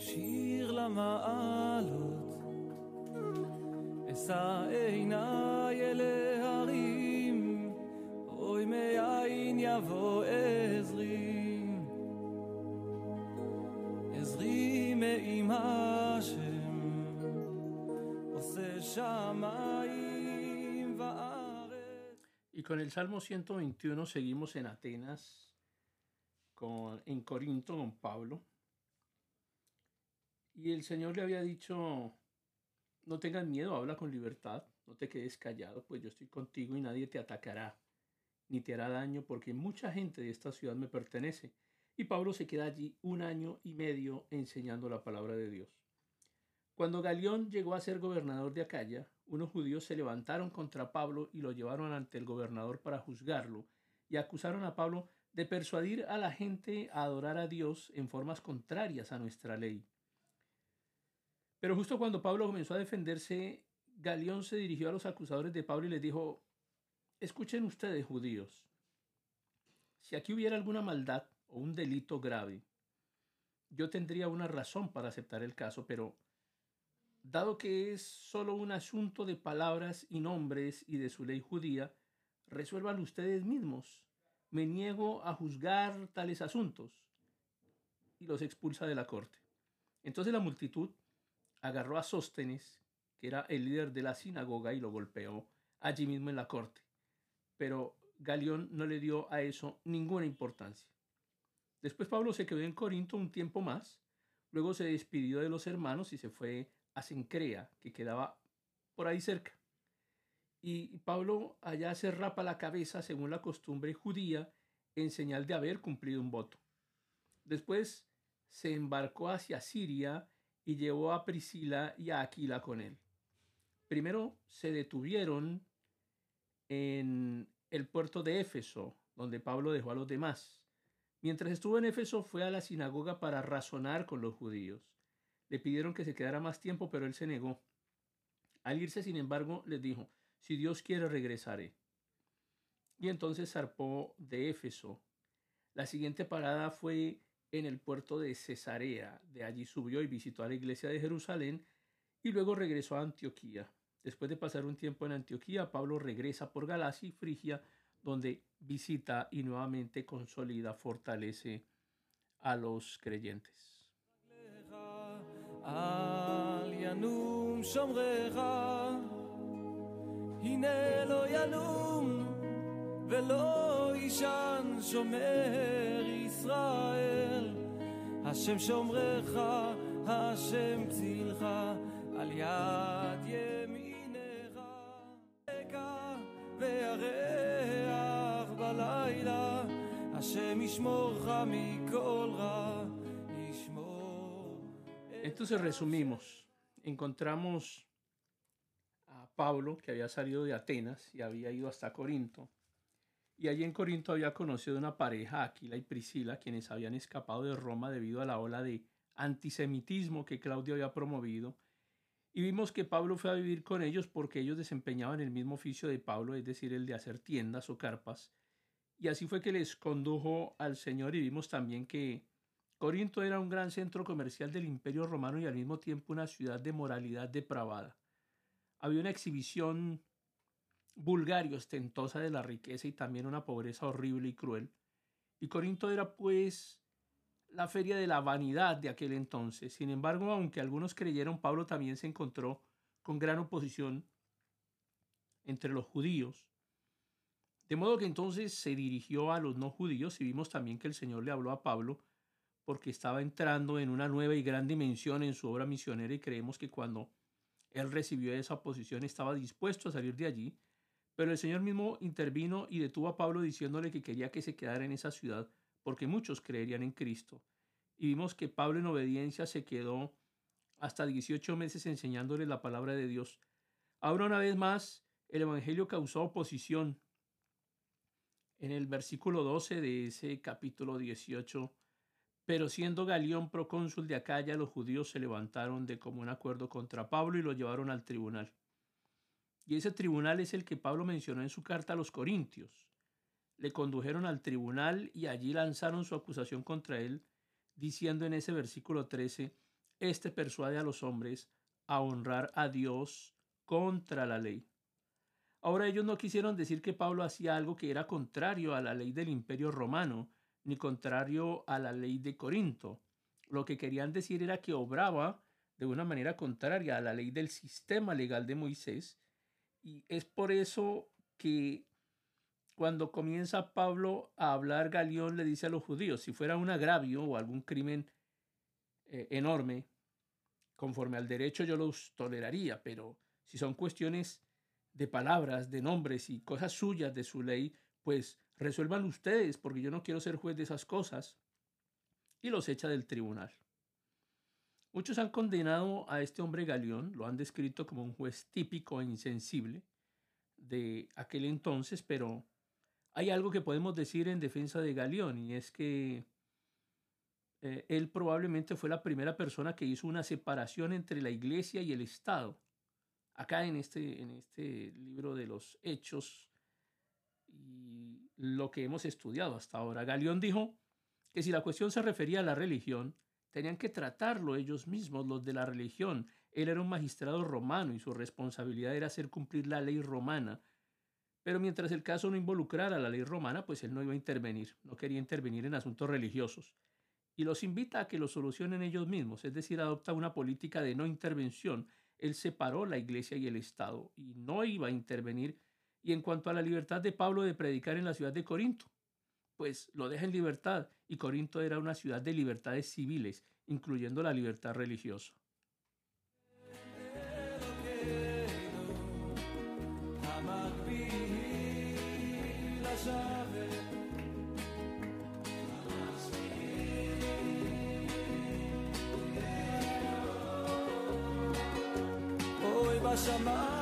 שיר למעלות, אשא עיניי אל ההרים, אוי מאין יבוא עזרי, עזרי מעם השם, עושה שמיים וארץ. Y con el Salmo 121 seguimos en Atenas, en Corinto, con Pablo. Y el Señor le había dicho, no tengas miedo, habla con libertad, no te quedes callado, pues yo estoy contigo y nadie te atacará, ni te hará daño, porque mucha gente de esta ciudad me pertenece. Y Pablo se queda allí 1 año y medio enseñando la palabra de Dios. Cuando Galión llegó a ser gobernador de Acaya, unos judíos se levantaron contra Pablo y lo llevaron ante el gobernador para juzgarlo, y acusaron a Pablo de persuadir a la gente a adorar a Dios en formas contrarias a nuestra ley. Pero justo cuando Pablo comenzó a defenderse, Galión se dirigió a los acusadores de Pablo y les dijo: escuchen ustedes, judíos, si aquí hubiera alguna maldad o un delito grave, yo tendría una razón para aceptar el caso, pero dado que es solo un asunto de palabras y nombres y de su ley judía, resuelvan ustedes mismos. Me niego a juzgar tales asuntos. Y los expulsa de la corte. Entonces la multitud agarró a Sóstenes, que era el líder de la sinagoga, y lo golpeó allí mismo en la corte. Pero Galión no le dio a eso ninguna importancia. Después Pablo se quedó en Corinto un tiempo más, luego se despidió de los hermanos y se fue a Cencrea, que quedaba por ahí cerca. Y Pablo allá se rapa la cabeza según la costumbre judía en señal de haber cumplido un voto. Después se embarcó hacia Siria y llevó a Priscila y a Aquila con él. Primero se detuvieron en el puerto de Éfeso, donde Pablo dejó a los demás. Mientras estuvo en Éfeso, fue a la sinagoga para razonar con los judíos. Le pidieron que se quedara más tiempo, pero él se negó. Al irse, sin embargo, les dijo: si Dios quiere, regresaré. Y entonces zarpó de Éfeso. La siguiente parada fue en el puerto de Cesarea. De allí subió y visitó a la iglesia de Jerusalén y luego regresó a Antioquía. Después de pasar un tiempo en Antioquía, Pablo regresa por Galacia y Frigia, donde visita y nuevamente consolida, fortalece a los creyentes. אל ינום שומרך, הנה לא ינום ולא יישן שומר ישראל, השם שומרך, השם צילך, על יד ימינך, וירח בלילה, השם ישמורך מכל רע. Entonces resumimos, encontramos a Pablo, que había salido de Atenas y había ido hasta Corinto, y allí en Corinto había conocido una pareja, Aquila y Priscila, quienes habían escapado de Roma debido a la ola de antisemitismo que Claudio había promovido, y vimos que Pablo fue a vivir con ellos porque ellos desempeñaban el mismo oficio de Pablo, es decir, el de hacer tiendas o carpas, y así fue que les condujo al Señor. Y vimos también que Corinto era un gran centro comercial del Imperio Romano y al mismo tiempo una ciudad de moralidad depravada. Había una exhibición vulgar y ostentosa de la riqueza y también una pobreza horrible y cruel. Y Corinto era pues la feria de la vanidad de aquel entonces. Sin embargo, aunque algunos creyeron, Pablo también se encontró con gran oposición entre los judíos. De modo que entonces se dirigió a los no judíos y vimos también que el Señor le habló a Pablo porque estaba entrando en una nueva y gran dimensión en su obra misionera, y creemos que cuando él recibió esa oposición estaba dispuesto a salir de allí, pero el Señor mismo intervino y detuvo a Pablo diciéndole que quería que se quedara en esa ciudad porque muchos creerían en Cristo. Y vimos que Pablo en obediencia se quedó hasta 18 meses enseñándole la palabra de Dios. Ahora una vez más el evangelio causó oposición. En el versículo 12 de ese capítulo 18, pero siendo Galión procónsul de Acaya, los judíos se levantaron de común acuerdo contra Pablo y lo llevaron al tribunal. Y ese tribunal es el que Pablo mencionó en su carta a los Corintios. Le condujeron al tribunal y allí lanzaron su acusación contra él, diciendo en ese versículo 13: Este persuade a los hombres a honrar a Dios contra la ley. Ahora ellos no quisieron decir que Pablo hacía algo que era contrario a la ley del Imperio Romano, ni contrario a la ley de Corinto. Lo que querían decir era que obraba de una manera contraria a la ley del sistema legal de Moisés, y es por eso que cuando comienza Pablo a hablar, Galión le dice a los judíos, si fuera un agravio o algún crimen enorme, conforme al derecho yo los toleraría, pero si son cuestiones de palabras, de nombres y cosas suyas de su ley, pues resuelvan ustedes, porque yo no quiero ser juez de esas cosas. Y los echa del tribunal. Muchos han condenado a este hombre Galión, lo han descrito como un juez típico e insensible de aquel entonces, pero hay algo que podemos decir en defensa de Galión, y es que él probablemente fue la primera persona que hizo una separación entre la iglesia y el Estado. Acá en este libro de los Hechos y lo que hemos estudiado hasta ahora, Galión dijo que si la cuestión se refería a la religión, tenían que tratarlo ellos mismos, los de la religión. Él era un magistrado romano y su responsabilidad era hacer cumplir la ley romana. Pero mientras el caso no involucrara la ley romana, pues él no iba a intervenir, no quería intervenir en asuntos religiosos. Y los invita a que lo solucionen ellos mismos, es decir, adopta una política de no intervención. Él separó la iglesia y el Estado y no iba a intervenir. Y en cuanto a la libertad de Pablo de predicar en la ciudad de Corinto, pues lo deja en libertad, y Corinto era una ciudad de libertades civiles, incluyendo la libertad religiosa. בשמיים